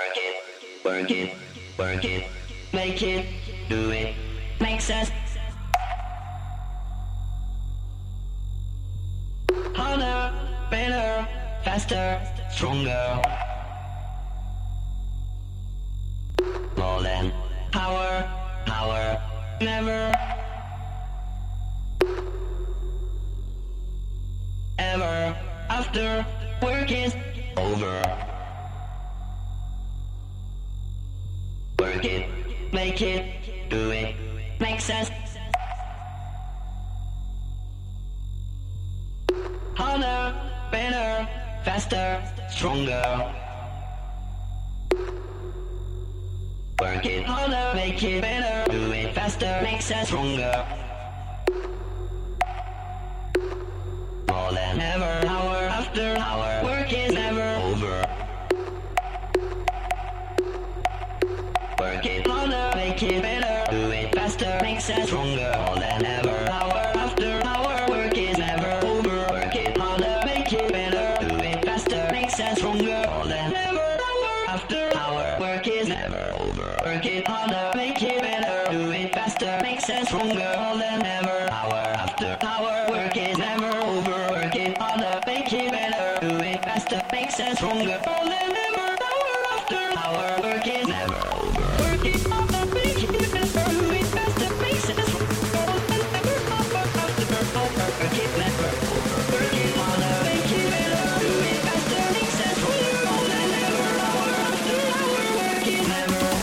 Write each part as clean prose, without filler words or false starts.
Work it, work it, make it, do it, makes us harder, better, faster, stronger. More than power, power, never, ever, after work is over. Work it, make it, do it, makes us harder, better, faster, stronger. Work it harder, make it better, do it faster, makes us stronger. More than ever, hour after hour, work is never over. Work it harder, make it better, do it faster, makes us stronger. More than ever, hour after hour, work is never over. Work it harder, make it better, do it faster, makes us stronger. More than ever, hour after hour, work is never over. Work it harder, make it better, do it faster, makes us stronger. More than ever, hour after hour, work is never over. Work it harder, make it better, do it faster, makes us stronger. More than ever, hour after hour, work is never over. Work it harder, make it better, do it faster, makes us stronger. More than ever, hour after hour, work is never over. Work it harder, make it better, do it faster, makes us stronger. More than ever, hour after hour, work is never over.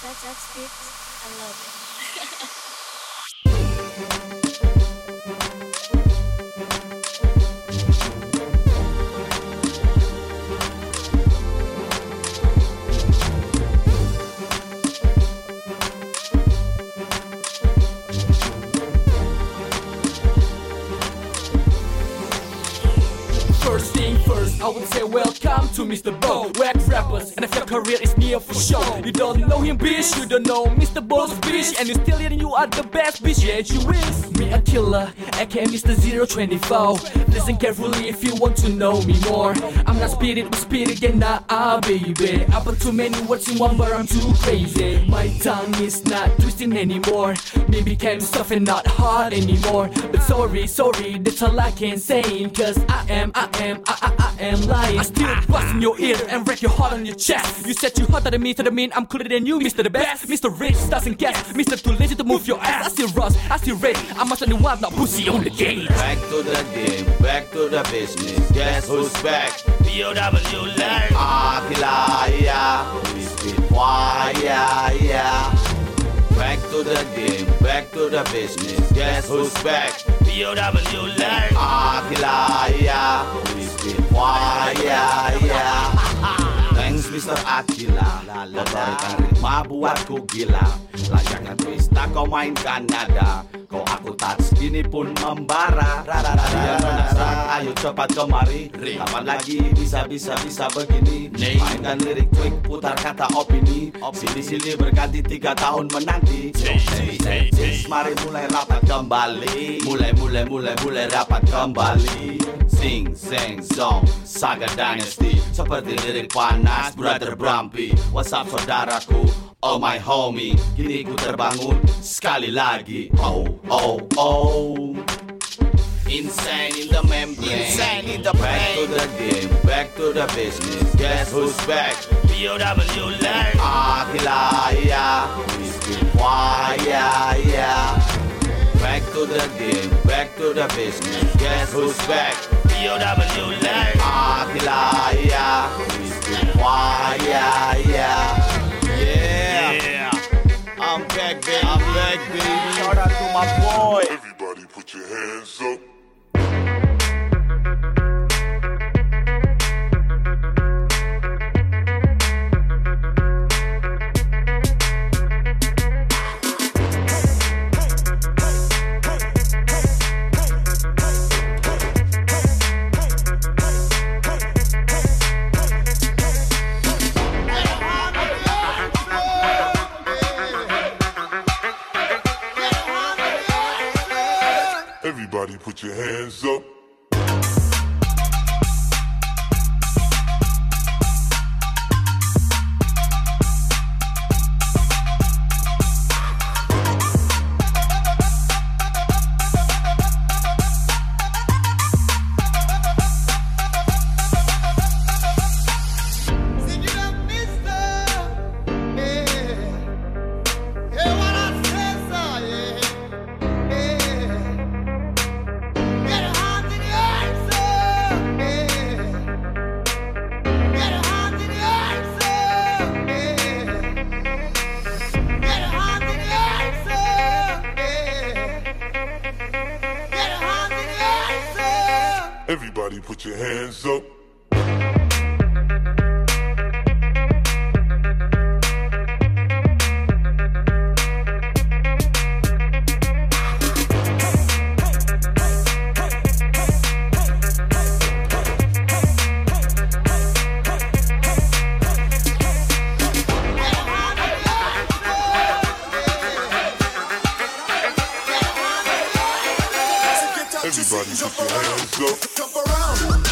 That's it. I love it. First thing first, I would say welcome to Mr. Bo. Whack rappers, and if your career is near for sure. You don't know him, bitch, you don't know Mr. Bo's bitch. And you still hearing you are the best, bitch, yeah, you is. Me a killer, aka Mr. 024. Listen carefully if you want to know me more. I'm not spirit with spirit, yeah, nah, baby. I put too many words in one, but I'm too crazy. My tongue is not twisting anymore. Me became soft and not hard anymore. But sorry, that's all I can say. Cause I am lying. I still bust in your ear and wreck your heart on your chest. You said you hotter than me, to the mean I'm cooler than you, Mr. the Best. Mr. Rich doesn't guess, Mr. Too lazy to move your ass. I still rust, I still red, I'm a new wild, not pussy on the game. Back to the game, back to the business. Guess who's back? POW Lang. Akila, yeah. We spit fire, yeah. Back to the game, back to the business. Guess who's back? POW Lang. Akila, yeah. We spit fire, yeah. Thanks Mr. Akila. Memberikan ritma buatku gila. Layaknya twista kau mainkan nada. Kau aku touch gini pun membara. Dia penasaran, ayo cepat kemari. Kapan lagi bisa begini? Mainkan lirik tweak, putar kata opini. Sini berganti 3 tahun menanti. Mari mulai rapat kembali. Mulai rapat kembali. Sing, song, Saga Dynasty. Seperti lirik panas, Brother Brumpy. What's up saudaraku, oh my homie. Kini ku terbangun sekali lagi. Oh. Insane in the membrane, insane in the brain. Back to the game, back to the business. Guess who's back? POW Lang. Akila, yeah. We spit fire, yeah. Back to the game, back to the business. Guess who's back? POW Lang. Akila, yeah. We spit fire, yeah. I'm back, baby. Shout out to my boy. Everybody put your hands up. Everybody put your hands up. Everybody put your hands up. Everybody put your hands up. Jump around.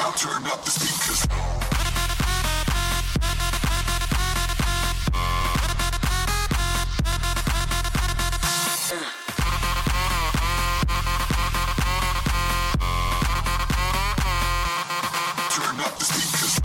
Now turn up the speakers. Turn up the speakers.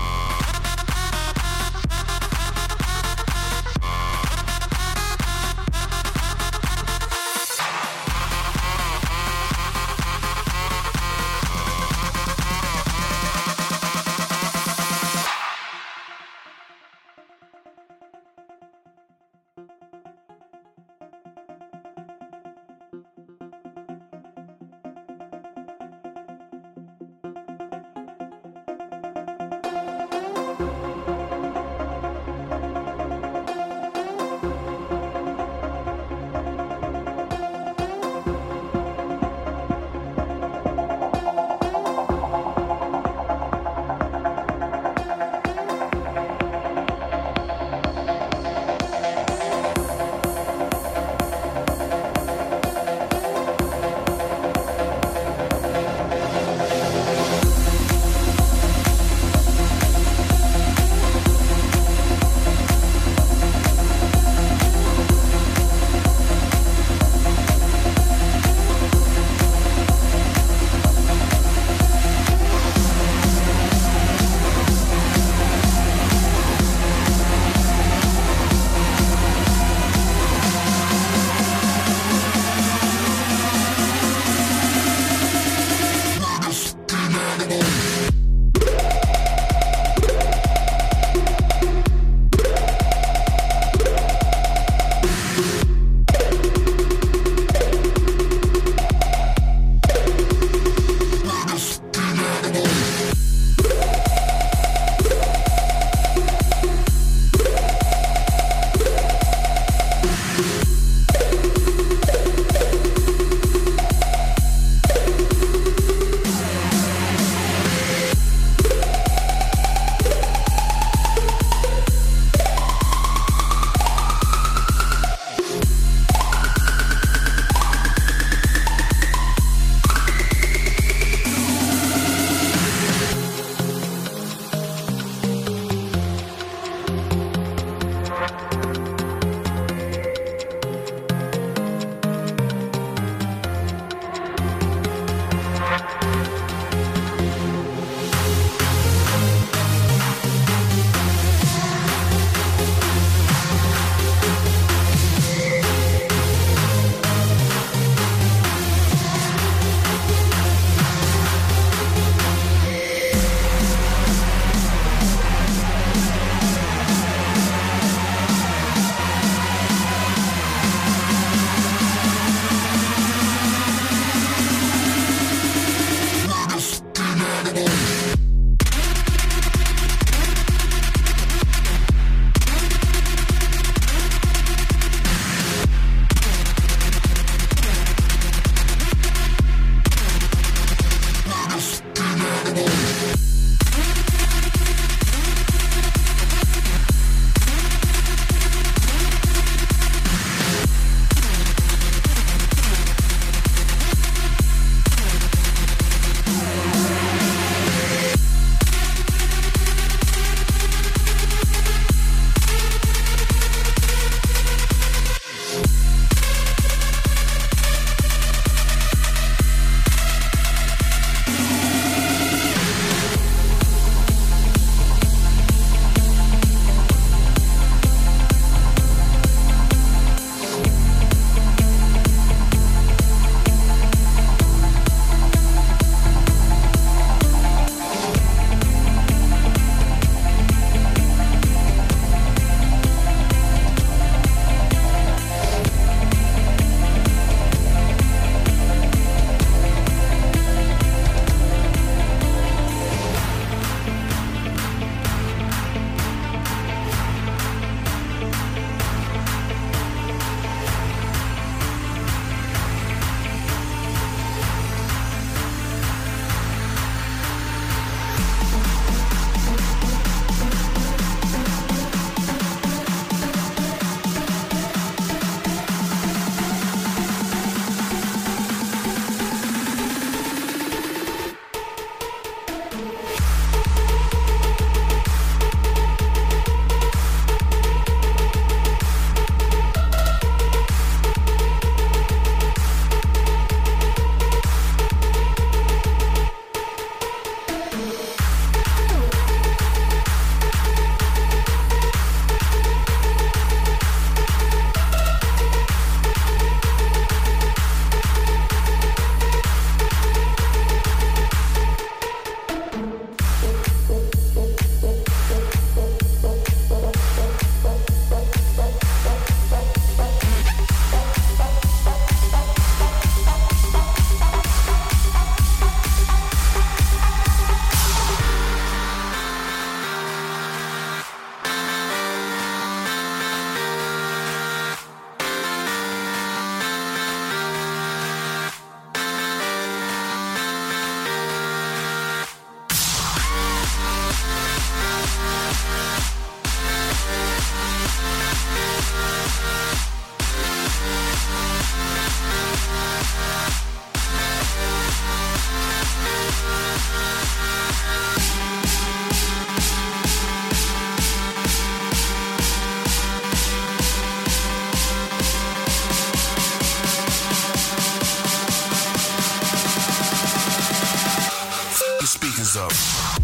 hands up.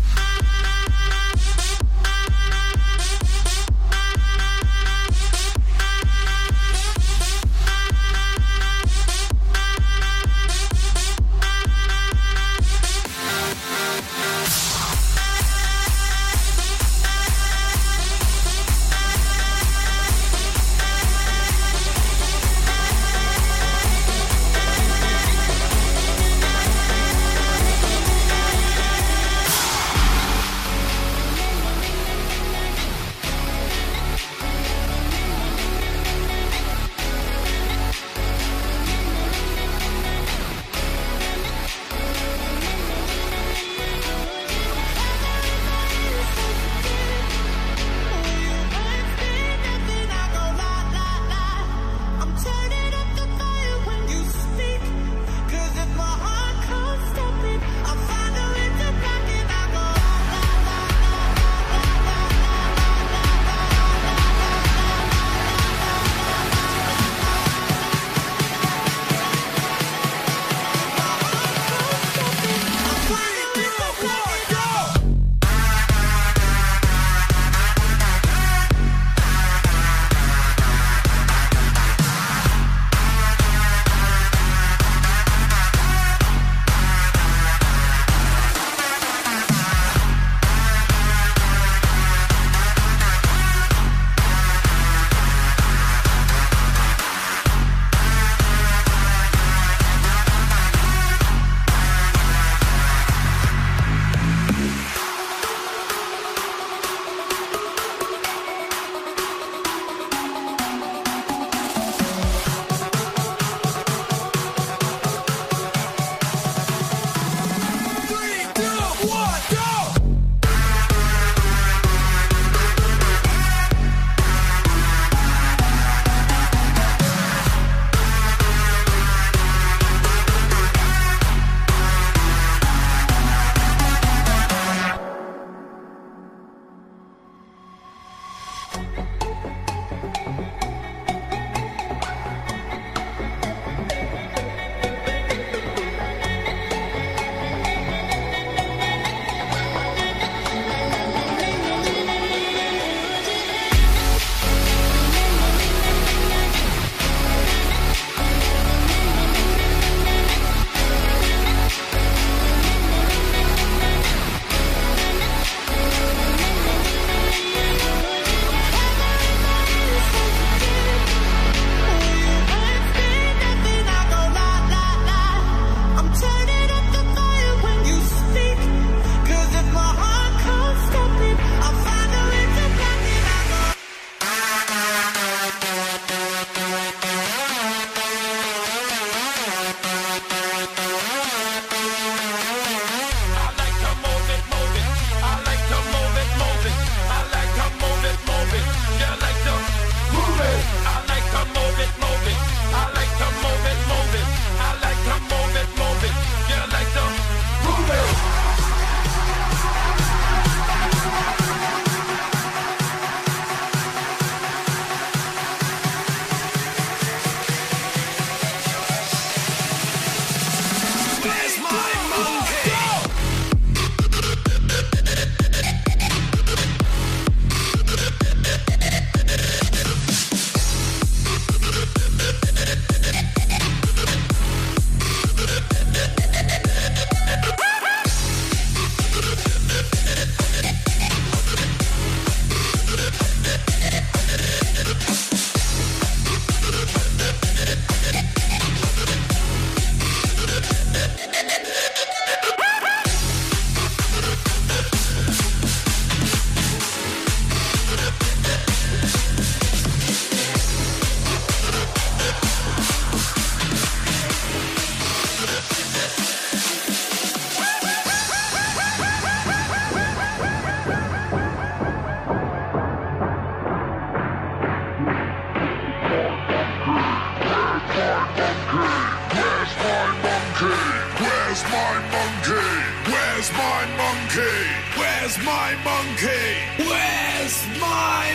Where's my monkey? Where's my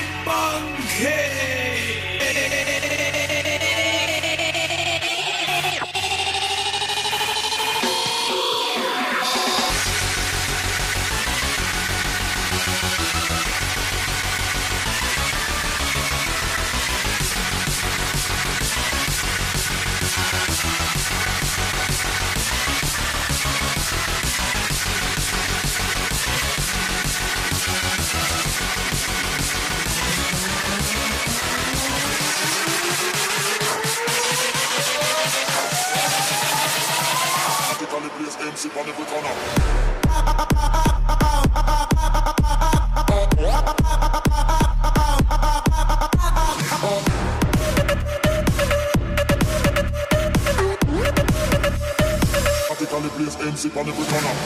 monkey? place, MC on every corner. Practically place, MC on every corner.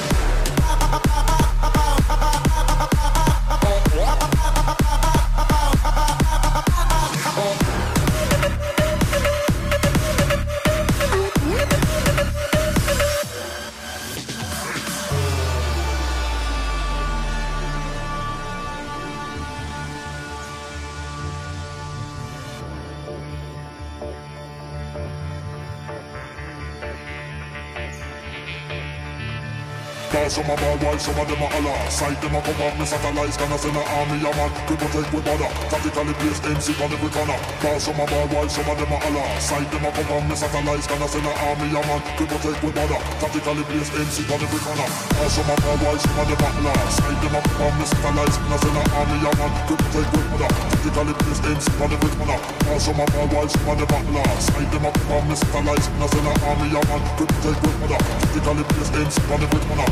Some of my wives, some of them are Allah. Side them a come off, me satellites, gonna send an army, a man. We protect with border, tactically place MC on every corner. Some of my wives, some of them are Allah. Side them a come off, me satellites, gonna send an army, a man. We protect with border, tactically place MC on every corner. Some of my wives, some of them are Allah. Side them a come off, me satellites, gonna send an army, a man. We protect with border, tactically place MC on every corner. Some of my wives, some of them are Allah. Side them a come off, me satellites, gonna send an army, a man. We protect with border, tactically place MC on every corner.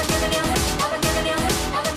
I've been giving you, I've been giving you, I've been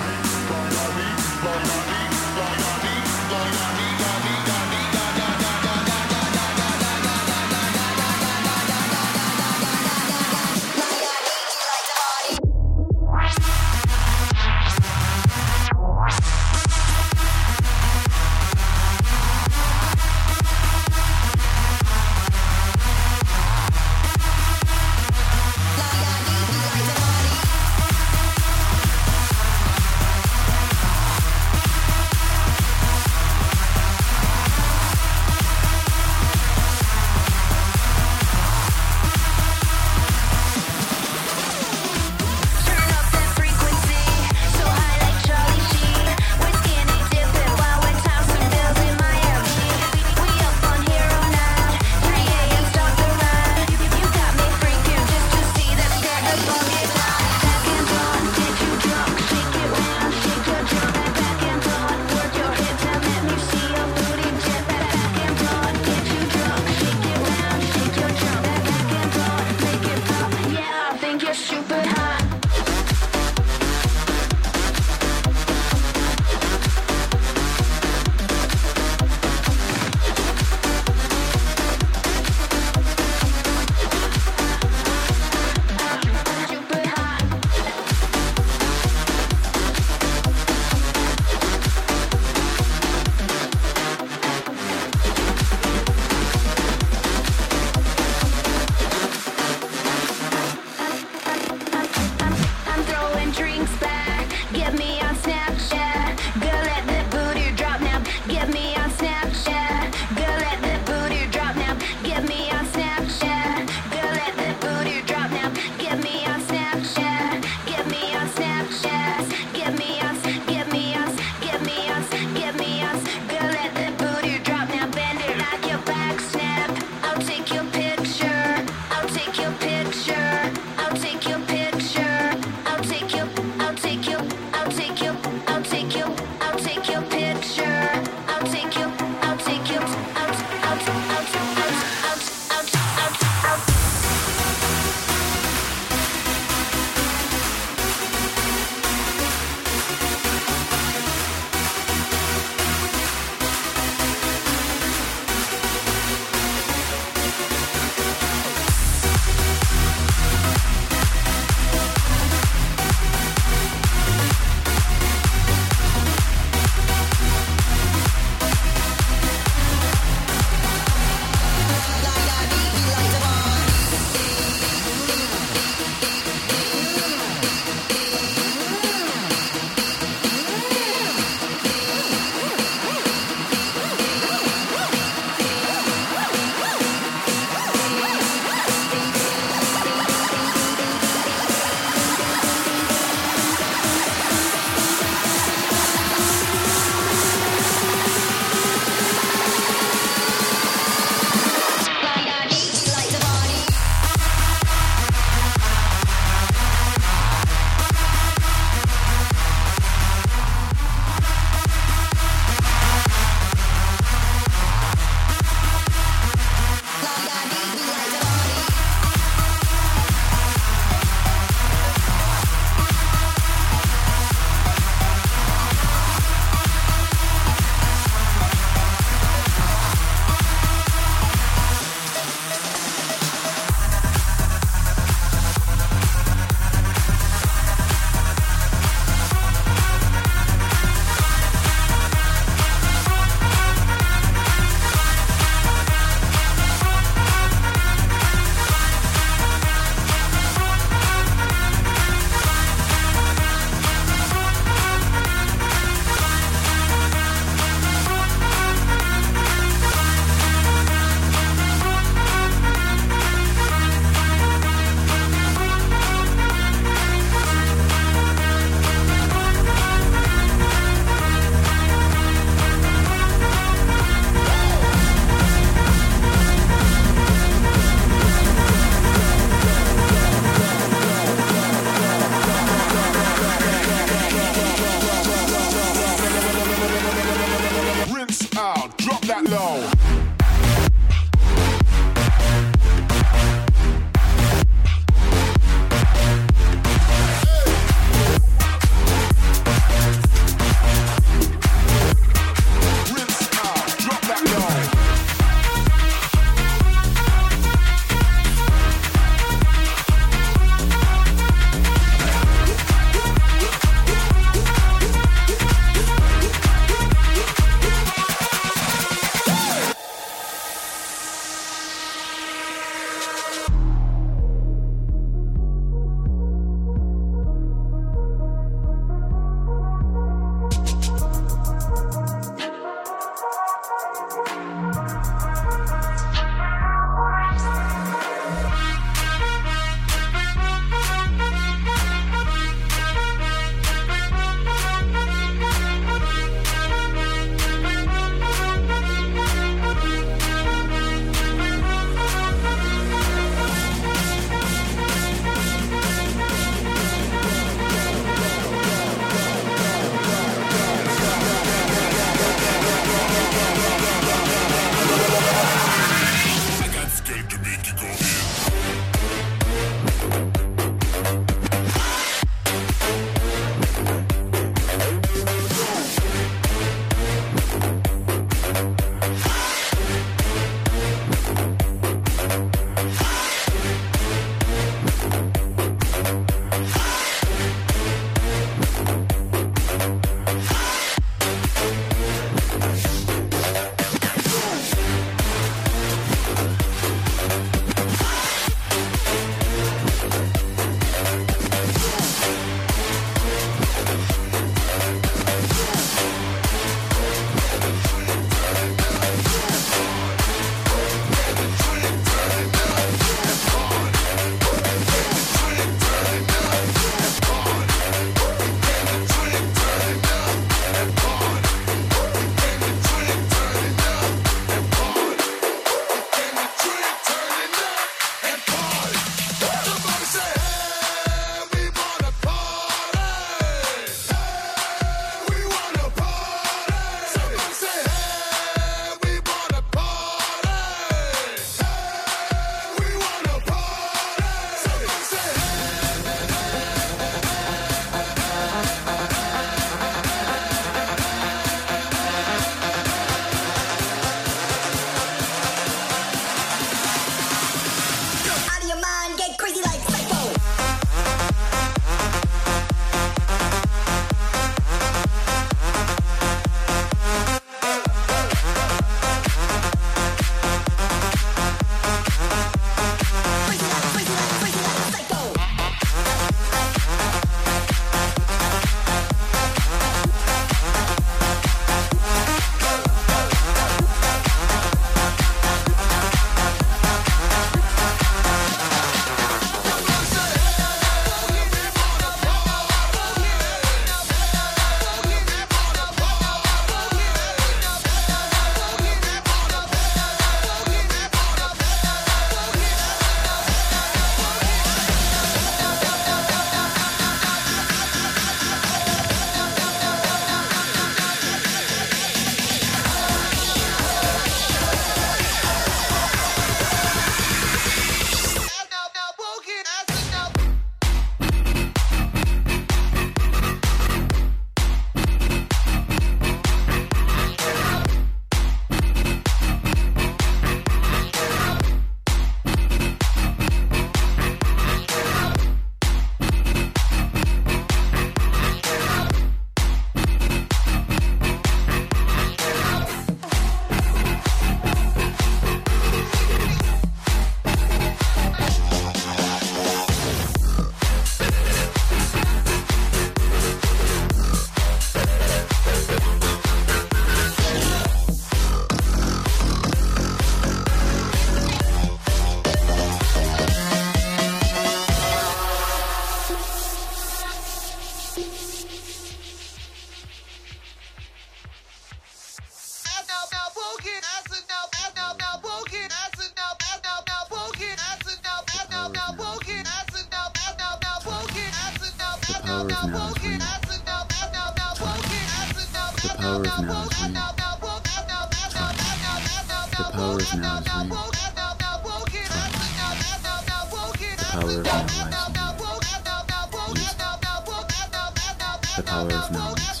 The power of now.